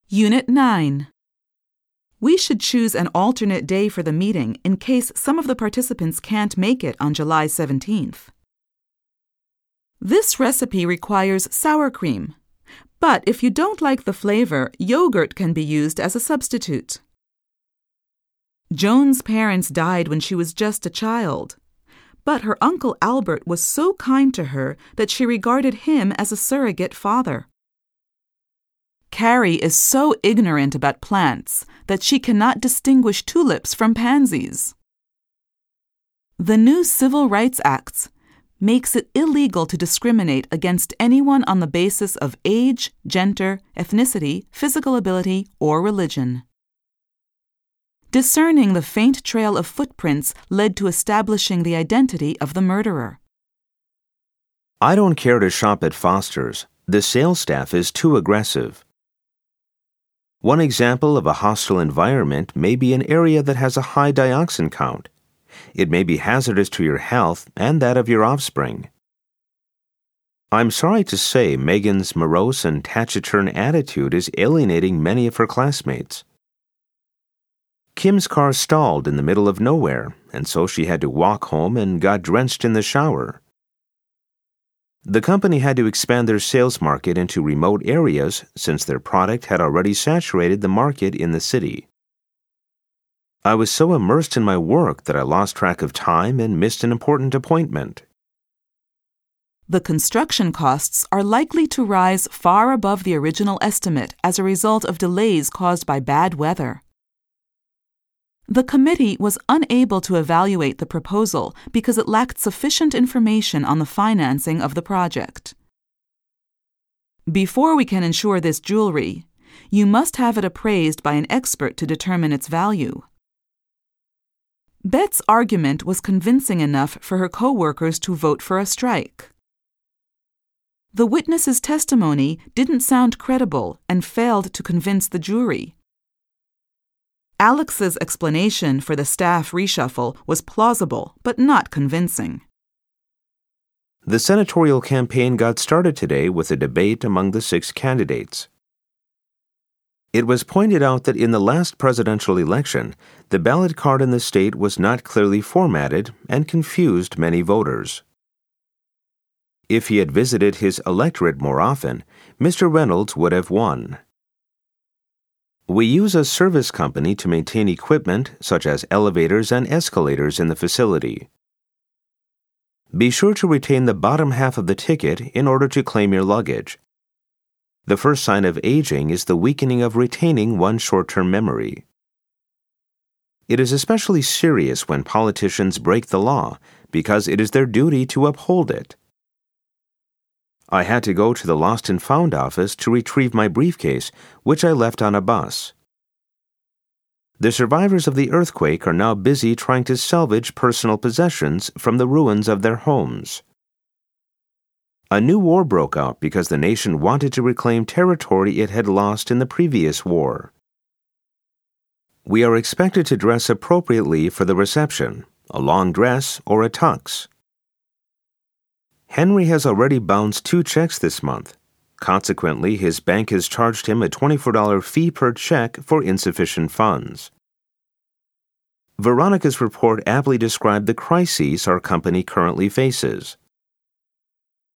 Unit 9. We should choose an alternate day for the meeting in case some of the participants can't make it on July 17th. This recipe requires sour cream, but if you don't like the flavor, yogurt can be used as a substitute. Joan's parents died when she was just a child, but her uncle Albert was so kind to her that she regarded him as a surrogate father. Carrie is so ignorant about plants that she cannot distinguish tulips from pansies. The new Civil Rights Act makes it illegal to discriminate against anyone on the basis of age, gender, ethnicity, physical ability, or religion. Discerning the faint trail of footprints led to establishing the identity of the murderer. I don't care to shop at Foster's. The sales staff is too aggressive. One example of a hostile environment may be an area that has a high dioxin count. It may be hazardous to your health and that of your offspring. I'm sorry to say Megan's morose and taciturn attitude is alienating many of her classmates. Kim's car stalled in the middle of nowhere, and so she had to walk home and got drenched in the shower. The company had to expand their sales market into remote areas since their product had already saturated the market in the city. I was so immersed in my work that I lost track of time and missed an important appointment. The construction costs are likely to rise far above the original estimate as a result of delays caused by bad weather. The committee was unable to evaluate the proposal because it lacked sufficient information on the financing of the project. Before we can insure this jewelry, you must have it appraised by an expert to determine its value. Bet's argument was convincing enough for her co-workers to vote for a strike. The witness's testimony didn't sound credible and failed to convince the jury. Alex's explanation for the staff reshuffle was plausible but not convincing. The senatorial campaign got started today with a debate among the 6 candidates. It was pointed out that in the last presidential election, the ballot card in the state was not clearly formatted and confused many voters. If he had visited his electorate more often, Mr. Reynolds would have won. We use a service company to maintain equipment such as elevators and escalators in the facility. Be sure to retain the bottom half of the ticket in order to claim your luggage. The first sign of aging is the weakening of retaining one's short-term memory. It is especially serious when politicians break the law because it is their duty to uphold it. I had to go to the Lost and Found office to retrieve my briefcase, which I left on a bus. The survivors of the earthquake are now busy trying to salvage personal possessions from the ruins of their homes. A new war broke out because the nation wanted to reclaim territory it had lost in the previous war. We are expected to dress appropriately for the reception, a long dress or a tux. Henry has already bounced 2 checks this month. Consequently, his bank has charged him a $24 fee per check for insufficient funds. Veronica's report aptly described the crises our company currently faces.